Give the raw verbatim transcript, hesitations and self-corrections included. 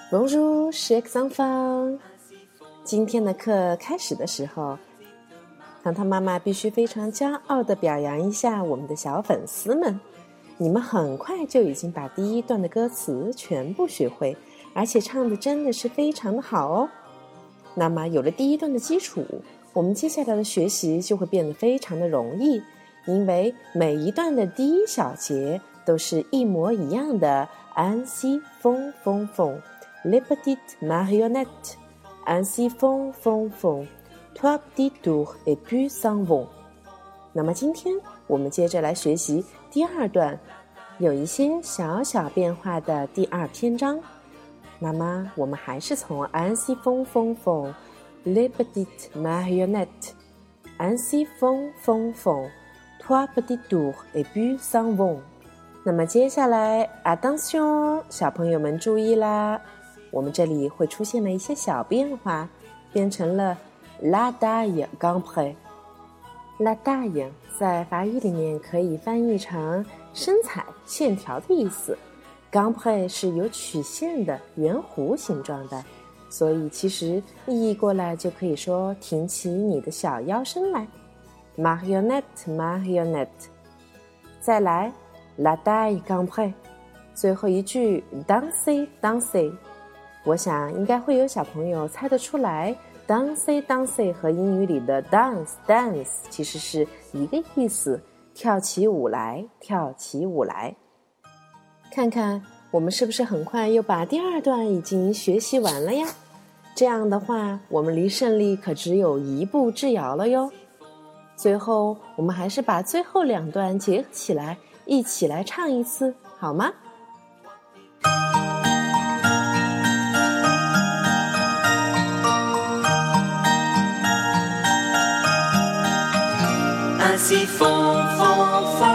Bonjour, chers enfants。今天的课开始的时候，糖糖妈妈必须非常骄傲地表扬一下我们的小粉丝们。你们很快就已经把第一段的歌词全部学会，而且唱的真的是非常的好哦。那么有了第一段的基础，我们接下来的学习就会变得非常的容易，因为每一段的第一小节都是一模一样的 Ainsi font font font les petites marionnettes Ainsi font font font trois petits tours et puis s'en vont。 那么今天我们接着来学习第二段有一些小小变化的第二篇章。那么我们还是从 Ainsi font font font les petites marionnettes Ainsi font font font trois petits tours et puis s'en vont。 那么接下来 Attention， 小朋友们注意啦，我们这里会出现了一些小变化，变成了 La taille grand près。La taille 在法语里面可以翻译成身材、线条的意思， grand près 是有曲线的圆弧形状的，所以其实意译过来就可以说挺起你的小腰身来。 Marionnette Marionnette。 再来 La taille grand près。 最后一句 Danser Danser。 我想应该会有小朋友猜得出来， Danser Danser 和英语里的 dance dance 其实是一个意思，跳起舞来跳起舞来。看看我们是不是很快又把第二段已经学习完了呀？这样的话我们离胜利可只有一步之遥了哟。最后我们还是把最后两段结合起来，一起来唱一次好吗 ？Ainsi font, font, font